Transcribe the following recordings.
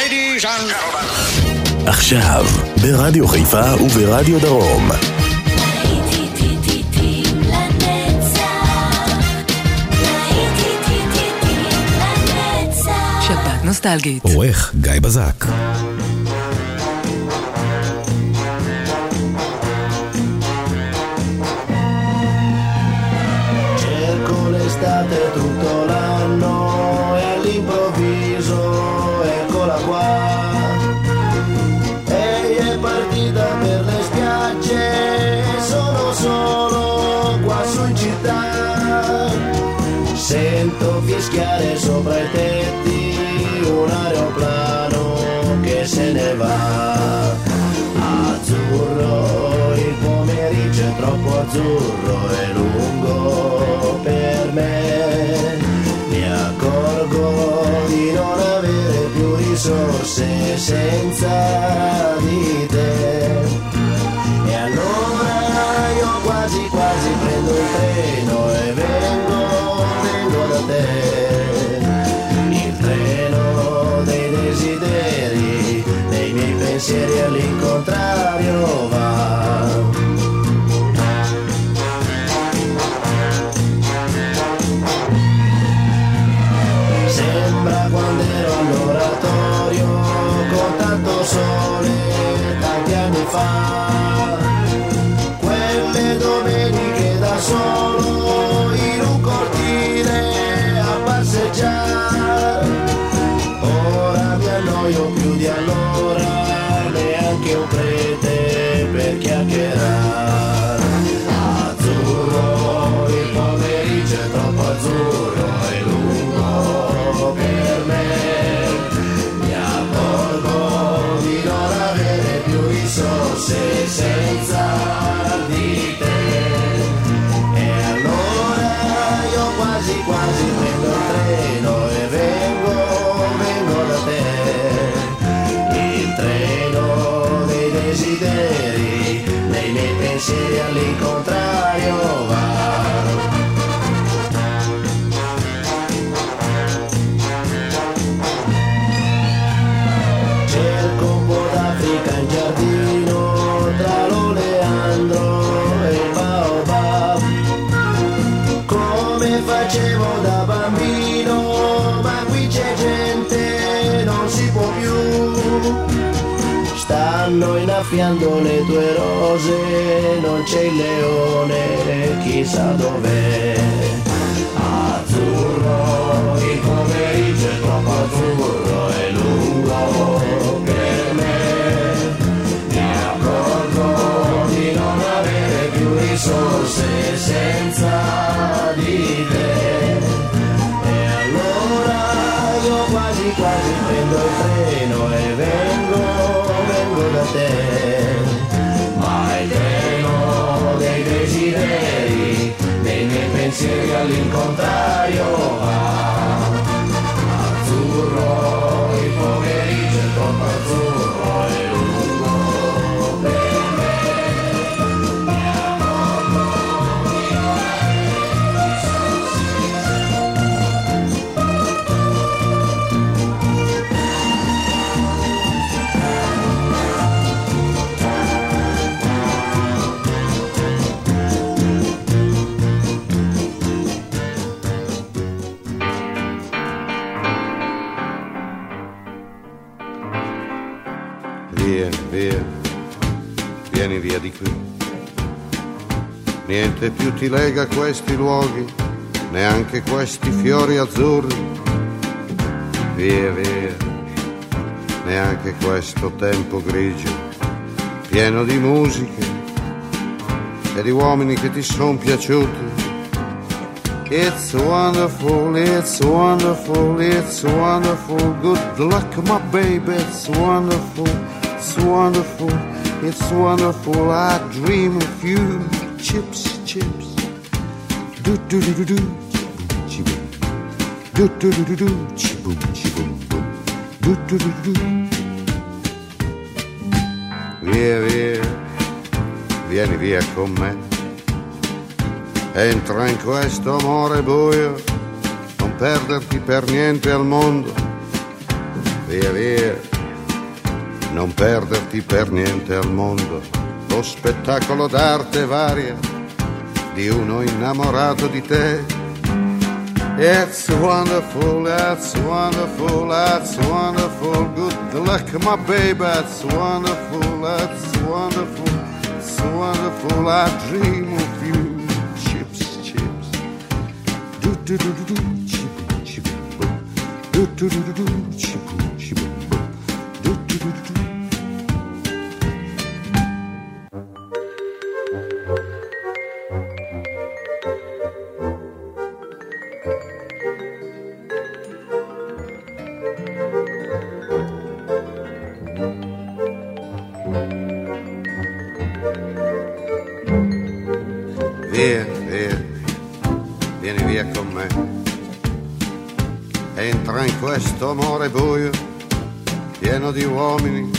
Ladies and gentlemen. עכשיו, ברדיו חיפה וברדיו דרום. שבת נוסטלגית. עורך גיא בזק. Cerco l'estate tutto l'anno e all'improvviso eccola qua. Lei è partita per le spiagge e sono solo qua su in città. Sento fischiare sopra i tetti un aeroplano che se ne va. Azzurro, il pomeriggio è troppo azzurro e lungo per me. Mi accorgo di non avere più risorse senza di te. E allora io quasi quasi prendo il treno e vengo da te. Il treno dei desideri, dei miei pensieri all'incontrario va. Sembra quando ero all'oratorio con tanto sole tanti anni fa. Quelle domeniche da solo in un cortile a passeggiare. Ora mi annoio più di allora, neanche un prete per chiacchierare. Azzurro, il pomeriggio è troppo azzurro e lungo per me. Mi accorgo di non avere più risorse senza di te. E allora io quasi quasi prendo il treno e vengo da te. Il treno dei desideri, dei miei pensieri all'incontrario va. Cerco un po' d'Africa in giardino tra l'oleandro e il baobab, come facevo da bambino, ma qui c'è gente, non si può più. Stanno innaffiando le tue rose, non c'è il leone, chissà dov'è. Azzurro, il pomeriggio è troppo azzurro e lungo per me. Mi accorgo di non avere più risorse senza di te. E allora io quasi quasi prendo il treno e vengo da te. Ma il treno dei desideri, dei miei pensieri all'incontrario va. Azzurro, il pomeriggio è troppo azzurro e lungo per me. Mi accorgo di non avere risorse. Vieni via di qui. Niente più ti lega a questi luoghi, neanche questi fiori azzurri. Via, neanche questo tempo grigio, pieno di musiche e di uomini che ti son piaciuti. It's wonderful, it's wonderful, it's wonderful. Good luck, my baby, it's wonderful, it's wonderful. It's wonderful, I dream of you. Chips, chips. Do do do do do. Chi-boom. Do do do do do. Chi-boom, chi-boom, boom. Do do do do. Via, vieni via con me. Entra in questo amore buio, non perderti per niente al mondo. Via, non perderti per niente al mondo lo spettacolo d'arte varia di uno innamorato di te. It's wonderful, that's wonderful, that's wonderful. Good luck, my baby, that's wonderful, that's wonderful, it's wonderful. I dream of you. Chips, chips. Do do do do do. Chip, chip, boom. Do do do do do. Chip, chip, boom. Do do do do do. Vieni via con me, entra in questo amore buio, pieno di uomini,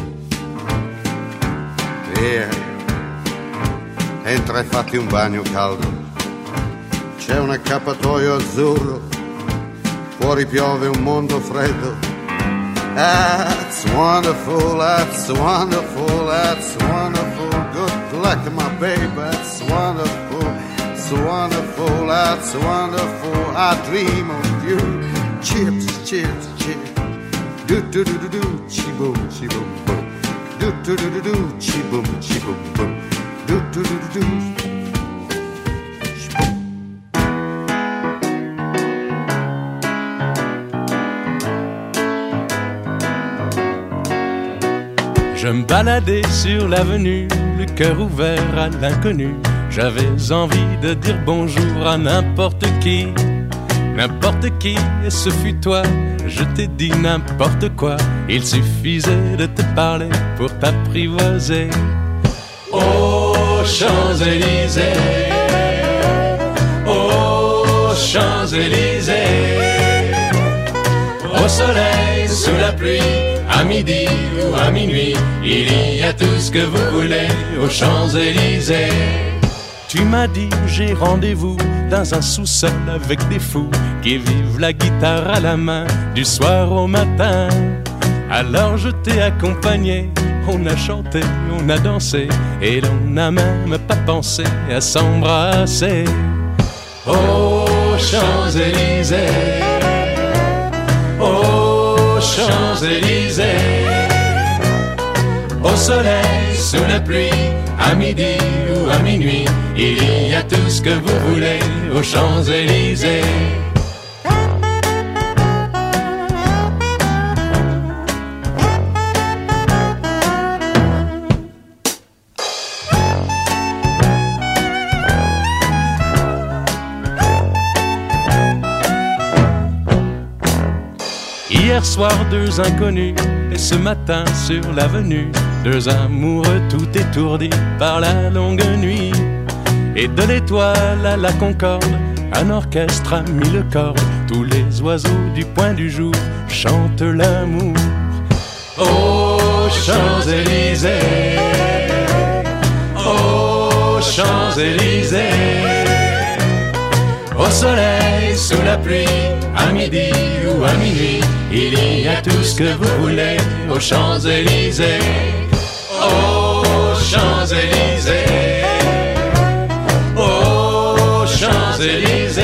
via, entra e fatti un bagno caldo, c'è un accappatoio azzurro, fuori piove un mondo freddo. That's wonderful, that's wonderful, that's wonderful. Good luck, my baby, that's wonderful, it's wonderful, that's wonderful. I dream of you. Chips, chips, chips. Do do do do do, chi boom, boom. Do do do do do, chi boom, boom. Do do do do do. Je me baladais sur l'avenue, le cœur ouvert à l'inconnu. J'avais envie de dire bonjour à n'importe qui, et ce fut toi. Je t'ai dit n'importe quoi, il suffisait de te parler pour t'apprivoiser. Aux Champs-Élysées, aux Champs-Élysées, au soleil, sous la pluie, à midi ou à minuit, il y a tout ce que vous voulez aux Champs-Élysées. Tu m'as dit j'ai rendez-vous dans un sous-sol avec des fous qui vivent la guitare à la main du soir au matin. Alors je t'ai accompagné, on a chanté, on a dansé et l'on n'a même pas pensé à s'embrasser. Aux Champs-Élysées, aux Champs-Élysées, au soleil, sous la pluie, à midi ou à minuit, il y a tout ce que vous voulez aux Champs-Élysées. Hier soir, deux inconnus, et ce matin sur l'avenue, deux amoureux tout étourdis par la longue nuit. Et de l'étoile à la Concorde, un orchestre a mis le corps. Tous les oiseaux du point du jour chantent l'amour. Aux Champs-Élysées, aux Champs-Élysées, au soleil, sous la pluie, à midi ou à minuit, il y a tout ce que vous voulez aux Champs-Élysées. Aux Champs-Élysées, aux Champs-Élysées,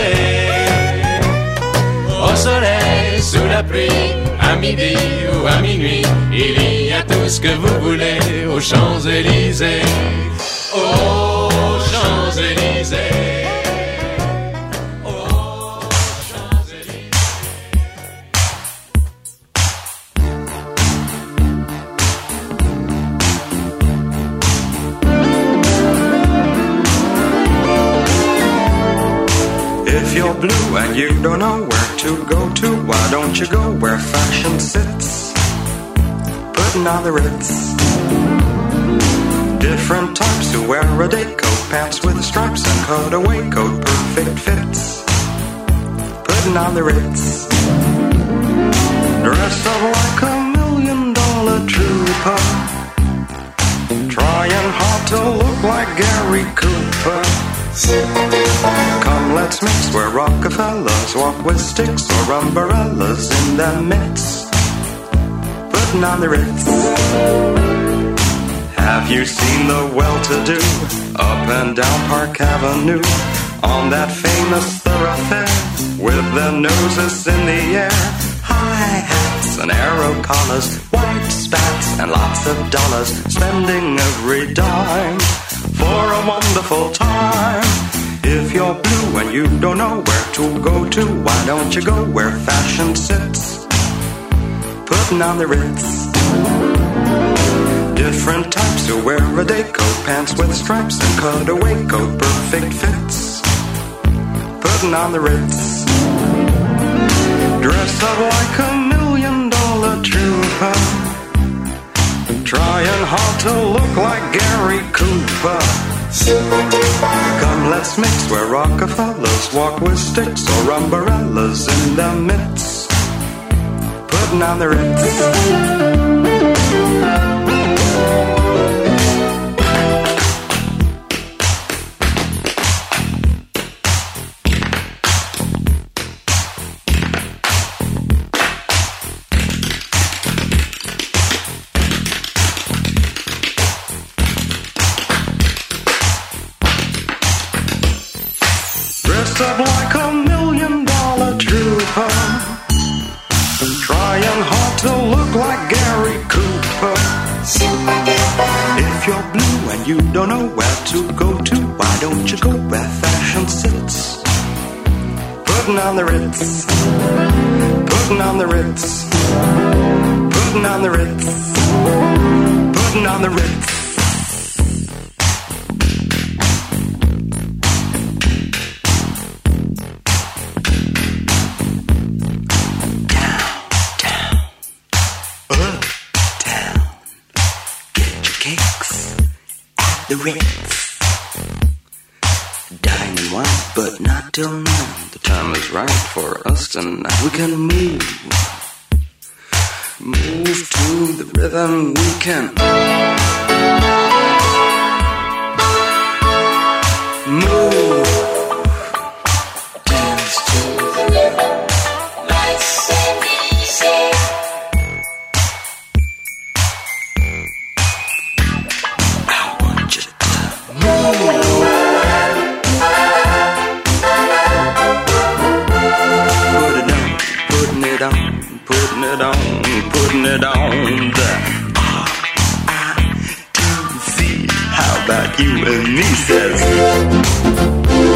au soleil, sous la pluie, à midi ou à minuit, il y a tout ce que vous voulez aux Champs-Élysées. Aux Champs-Élysées. If you're blue and you don't know where to go to, why don't you go where fashion sits, putting on the Ritz. Different types who wear a day coat, pants with stripes and cutaway coat, perfect fits, putting on the Ritz. Dressed up like $1 million trooper, trying hard to look like Gary Cooper. Come, let's mix where Rockefellers walk with sticks or umbrellas in their midst, putting putting on the Ritz. Have you seen the well-to-do up and down Park Avenue on that famous thoroughfare with their noses in the air? High hats and arrow collars, white spats and lots of dollars, spending every dime for a wonderful time. If you're blue and you don't know where to go to, why don't you go where fashion sits? Putting on the Ritz. Different types who wear a day coat, pants with stripes and cutaway coat, perfect fits. Putting on the Ritz. Dress up like $1 million trooper, trying hard to look like Gary Cooper. Come, let's mix where Rockefellers walk with sticks or umbrellas in their midst. Putting on the Ritz. Up like $1 million trooper, trying hard to look like Gary Cooper. If you're blue and you don't know where to go to, why don't you go where fashion sits? Putting on the Ritz. Putting on the Ritz. Putting on the Ritz. Putting on the Ritz. The Ritz. Dining wine, but not till now. The time is right for us tonight. We can move to the rhythm. We can move. Dance to the rhythm. Nice and easy. Putting it on the R-I-T-Z. How about you and me, says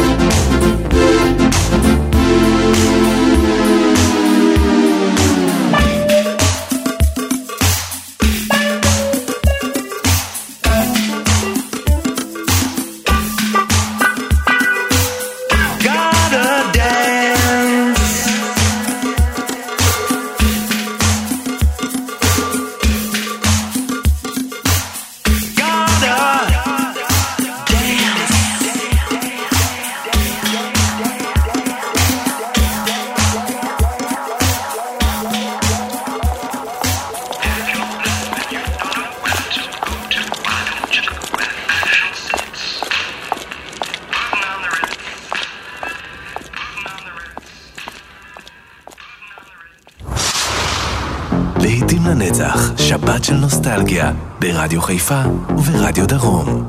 לעתים לנצח, שבת של נוסטלגיה, ברדיו חיפה וברדיו דרום.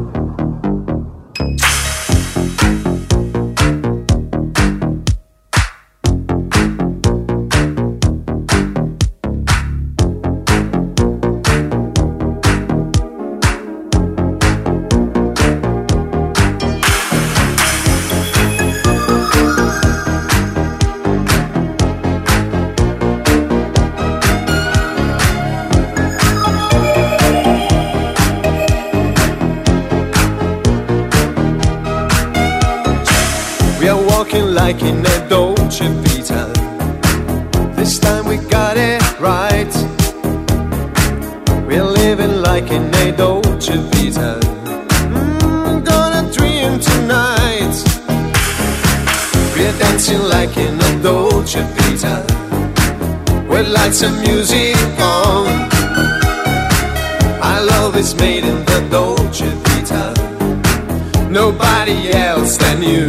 Like in a Dolce Vita, this time we got it right. We're living like in a Dolce Vita. Gonna dream tonight. We're dancing like in a Dolce Vita, with lights and music on. Our love is made in the Dolce Vita, nobody else than you.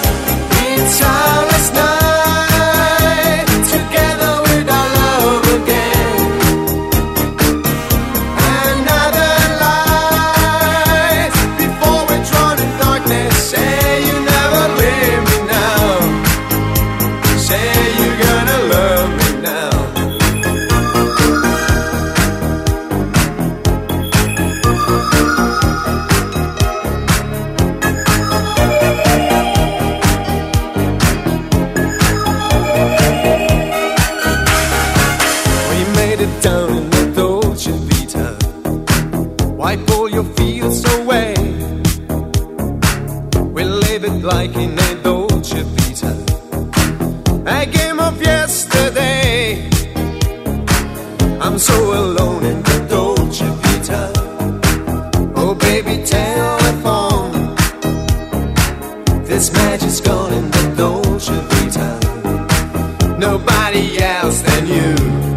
It's our last night, together with our love again. down in the Dolce Vita. Wipe all your fears away. We live it like in a Dolce Vita. A game of yesterday. I'm so alone in the Dolce Vita. Oh baby, telephone. This magic's gone in the Dolce Vita. Nobody else than you.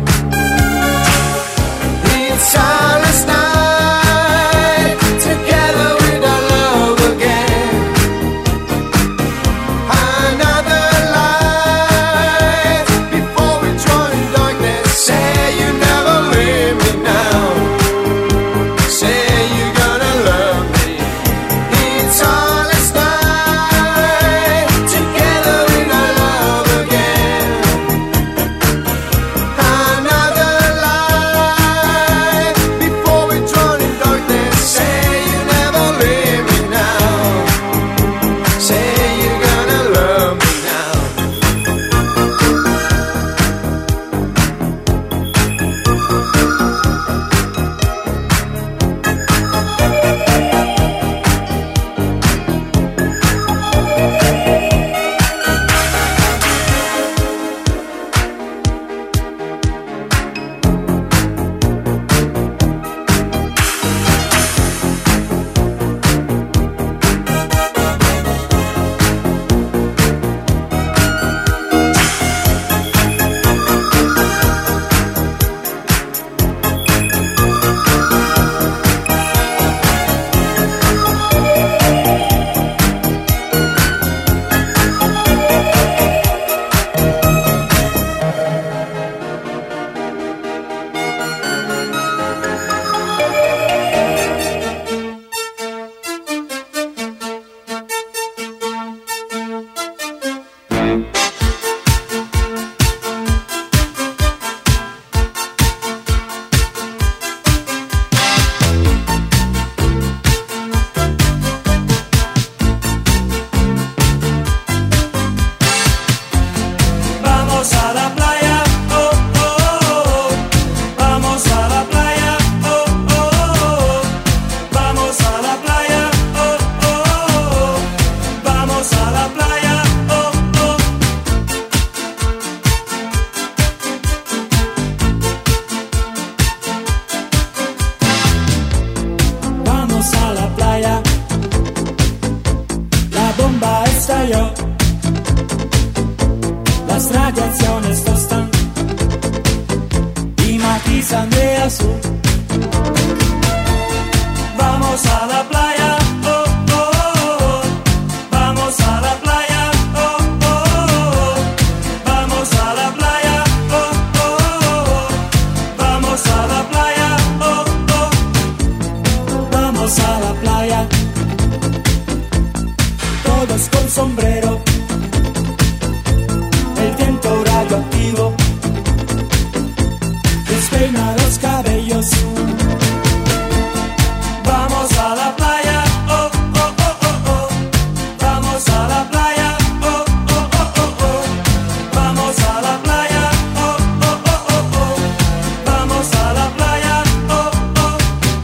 It's starless night, together with our love again. Another light before we drown in darkness. Say you never leave me now. Say you're gonna love me. It's starless night, together with our love again. Another light before we drown in darkness. Say you never leave me now. Say you're gonna love me now. Vamos a la playa, oh, oh, oh. Vamos a la playa, oh, oh, oh. Vamos a la playa, oh, oh, oh. Vamos a la playa, oh, oh. Vamos a la playa. La bomba estalló. Las radiaciones tostan y matizan de azul. Vamos a la playa, oh, oh, oh. Vamos a la playa, oh, oh, oh. Vamos a la playa, oh, oh, oh. Vamos a la playa, oh, oh. Vamos a la playa. Todos con sombrero. El viento radioactivo despeina los cabellos. Vamos a la playa, oh, oh, oh, oh, oh. Vamos a la playa, oh, oh, oh, oh, oh. Vamos a la playa, oh, oh, oh, oh, oh. Vamos a la playa, oh, oh.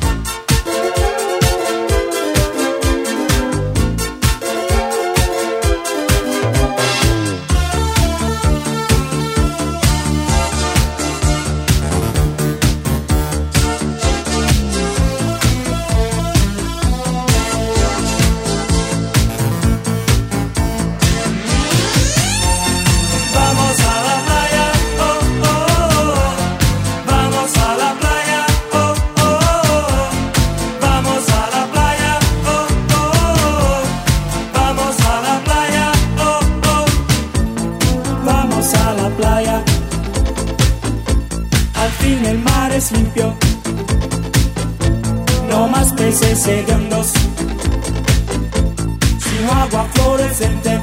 es limpio, no más peces hediondos, sino agua fluorescente.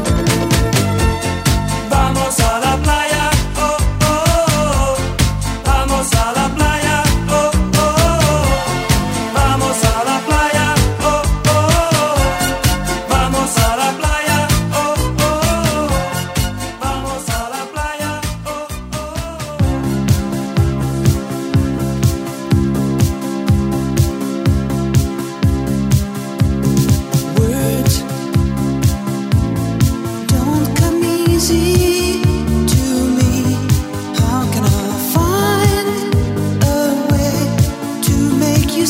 Vamos a la playa, oh, oh, oh. Vamos a la playa, oh, oh, oh. Vamos a la playa, oh, oh, oh. Vamos a la playa, oh, oh, oh. Vamos a la playa, oh, oh, oh.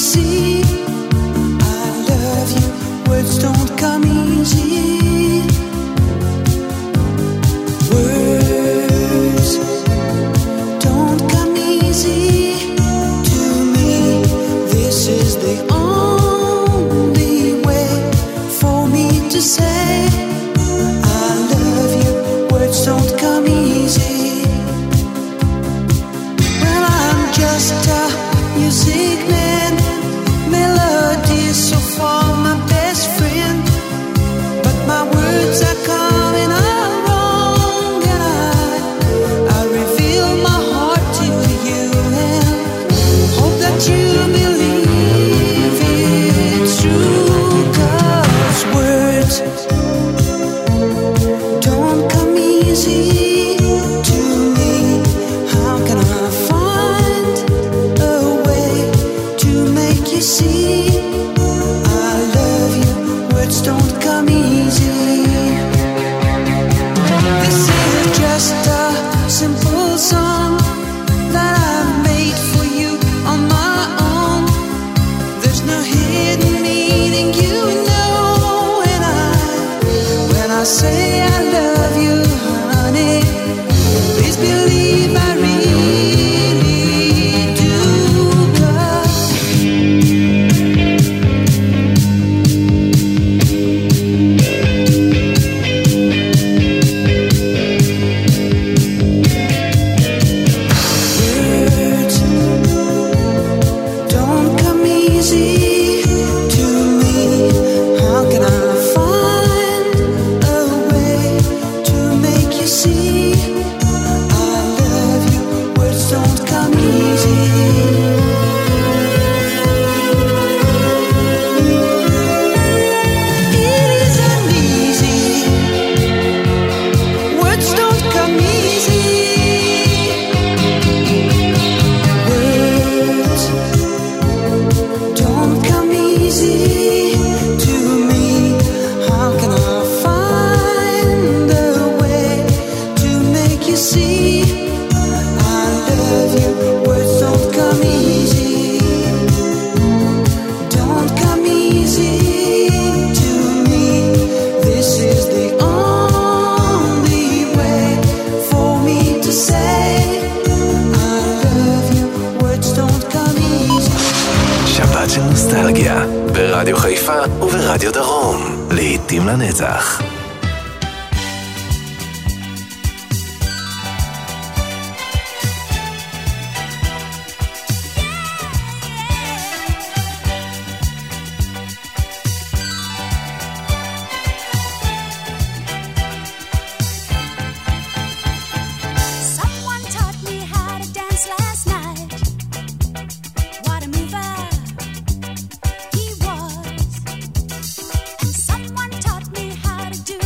see. I love you, words don't come easy. Words don't come easy to me. This is the only way for me to say I love you. Words don't come easy. Well, I'm just a music man, melodies so far my best friend, but my words are coming out wrong, and I reveal my heart to you and hope that you believe it's true, 'cause words don't come easy to me. How can I find a way to make you see I love you? Words don't come easy. This is just a simple song that I've made for you on my own. There's no hidden meaning, you know, when I say I love you, honey, please believe I really do, 'cause words don't come easy to me. How can I find a way to make you see I love you? Words don't come easy. It isn't easy. Words don't come easy. Words don't come easy to me. How can I find a way to make you see I love you? Words don't come easy. Don't come easy to me. This is the only way for me to say I love you. Words don't come easy. שבת של נוסטלגיה, ברדיו חיפה וברדיו דרום. לעתים לנצח. Someone taught me how to dance last night. What a mover he was. And someone taught me how to do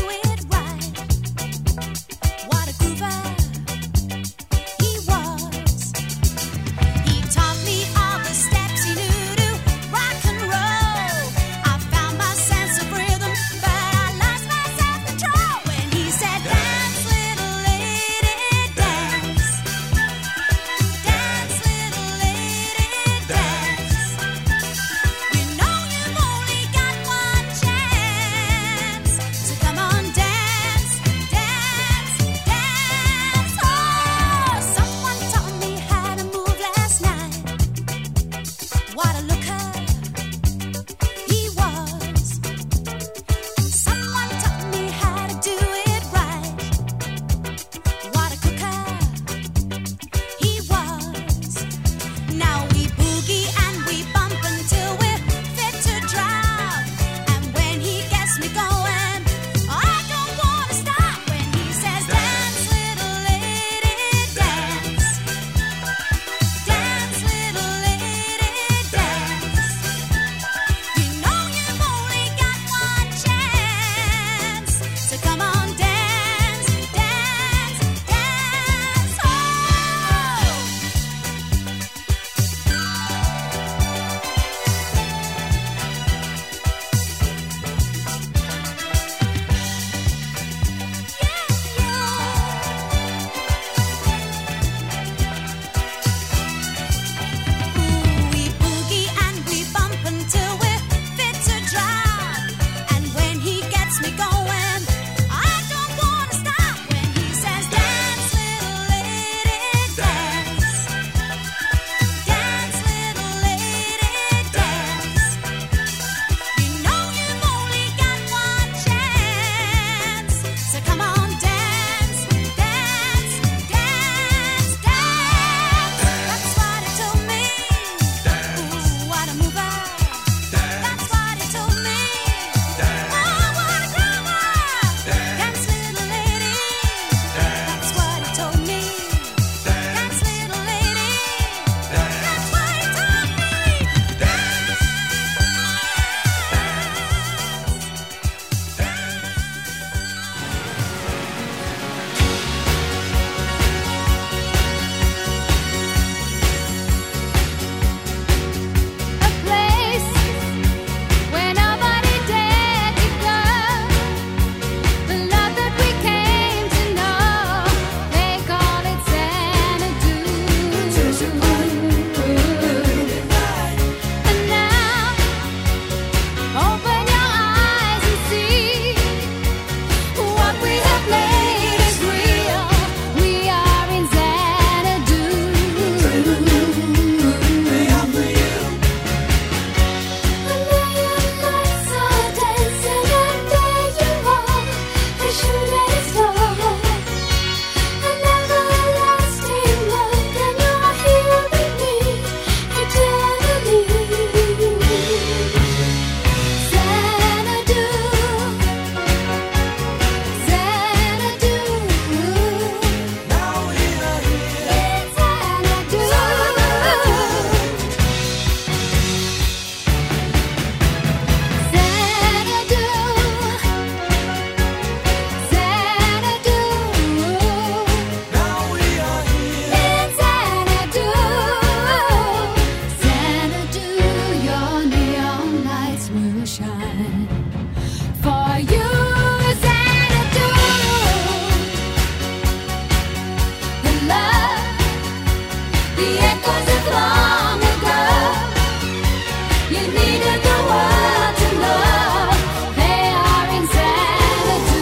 the echoes of long ago. You needed the world to know they are in Xanadu.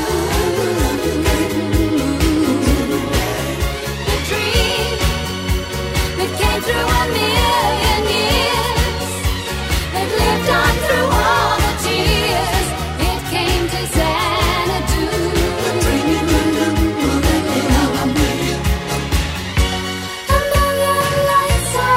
The dream that came through a million years, that lived on through all the tears, it came to Xanadu. A million lights are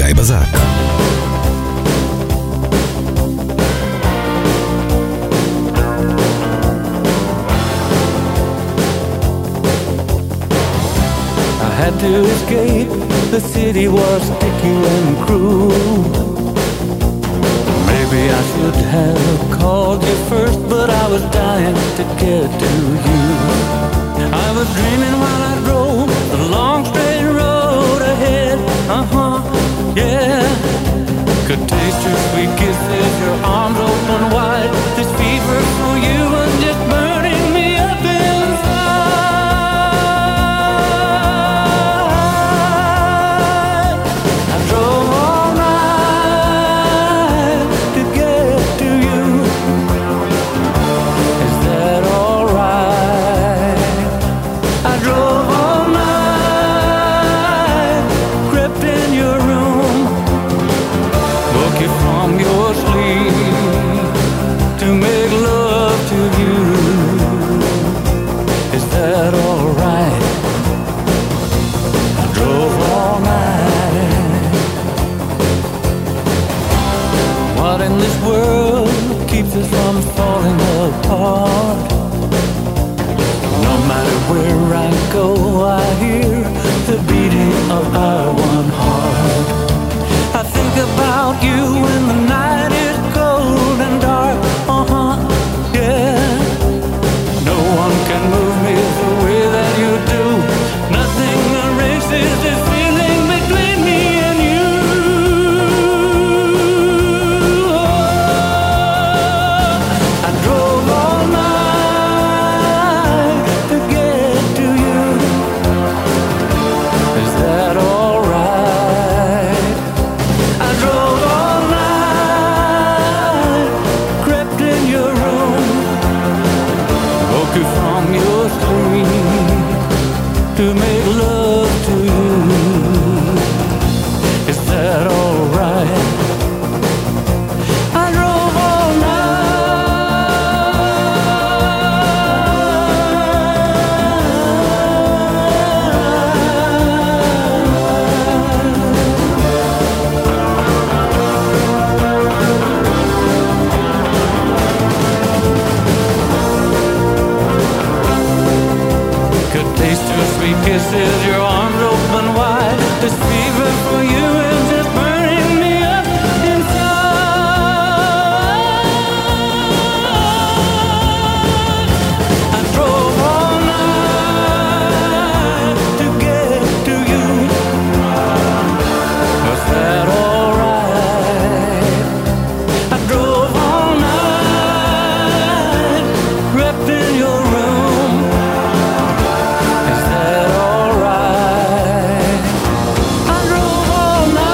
גיא בזק. Had to escape, the city was sticky and cruel. Maybe I should have called you first, but I was dying to get to you. I was dreaming while I drove the long straight road ahead. Yeah. Could taste your sweet kisses, your arms open wide. This fever for you was just burning me up inside. From falling apart. No matter where I go, I hear the beating of our one heart. I think about you when the night is cold and dark. Yeah. No one can move me the way that you do. Nothing erases this feeling between me and you. To make love to you. Is that alright? I drove all kisses, your arms open wide. This fever for you is just burning me up inside. I drove all night to get to you. Was that alright? I drove all night, wrapped in your room. Is that all right? I drove all night.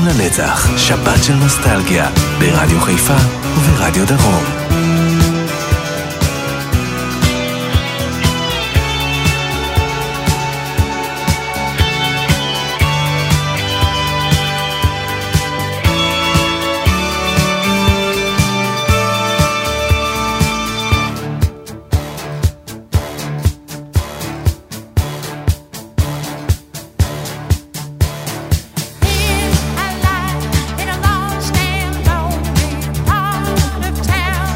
לנצח, שבת של נוסטלגיה, ברדיו חיפה וברדיו דרום. In a lost and lonely part of town.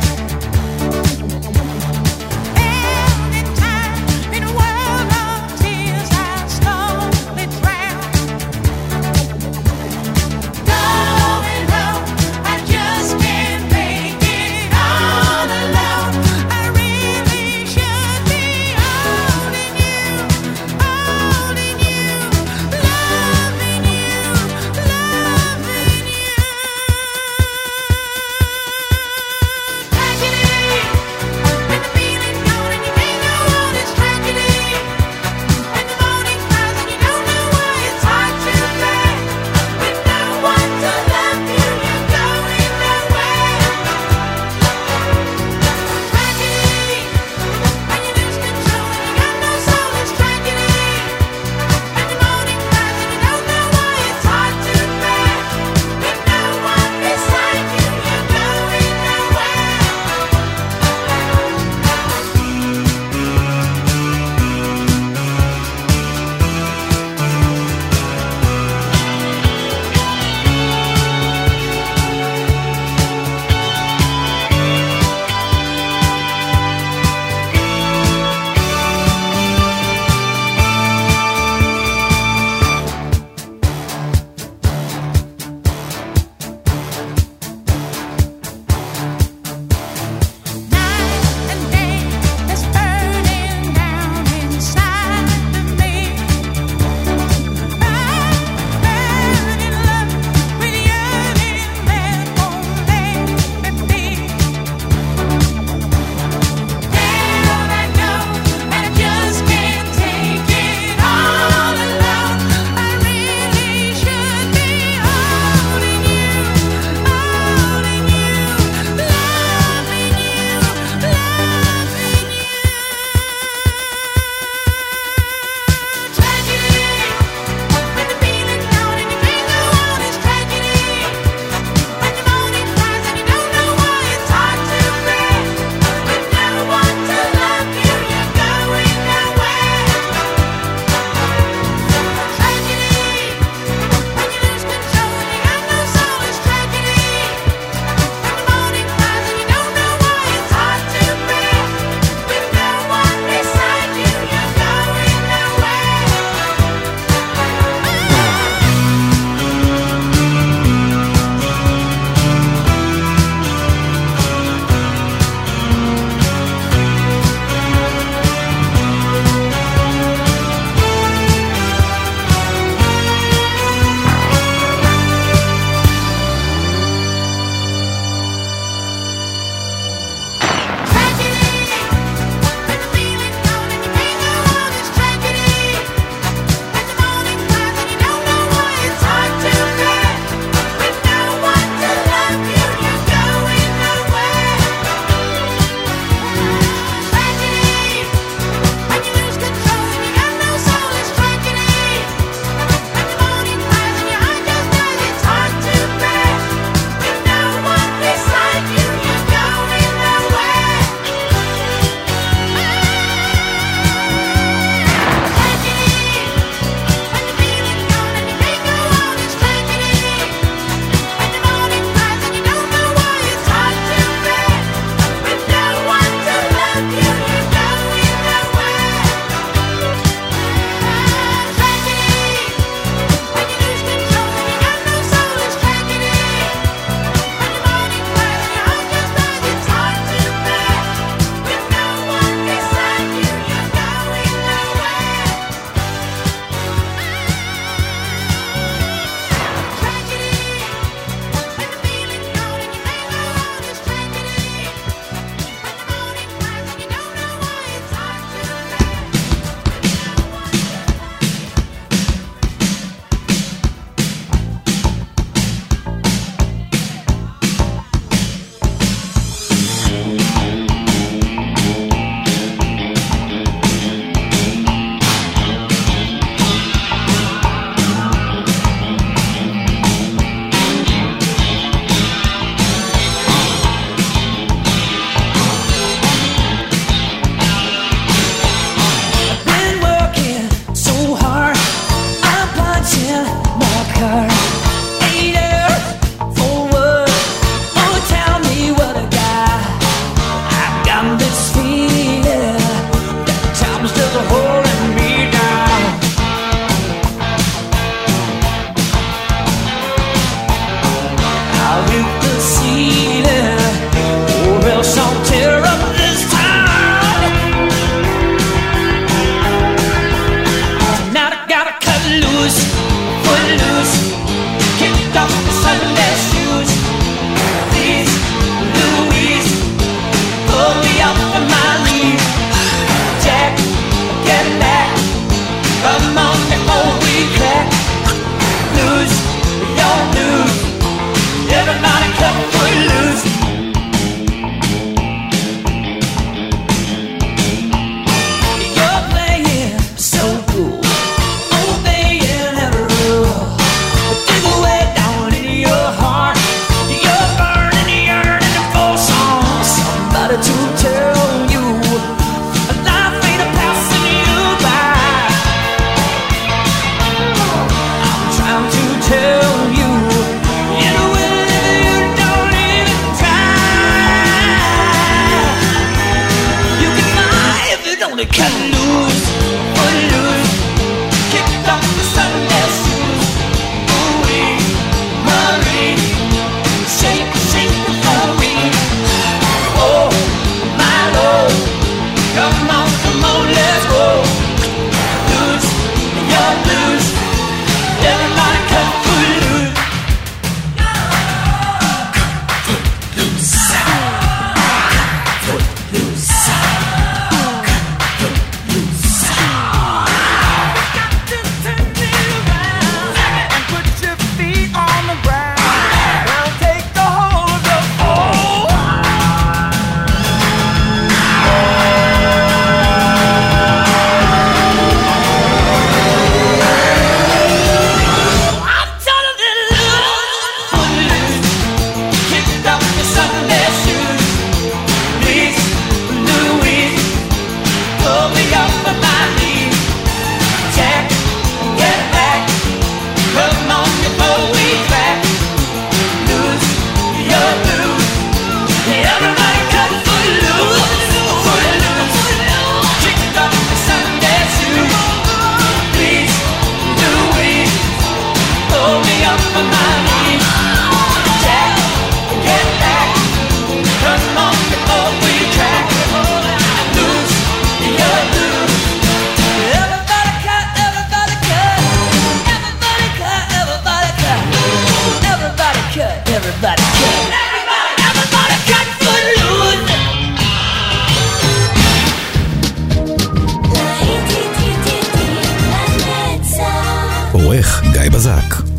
בזק.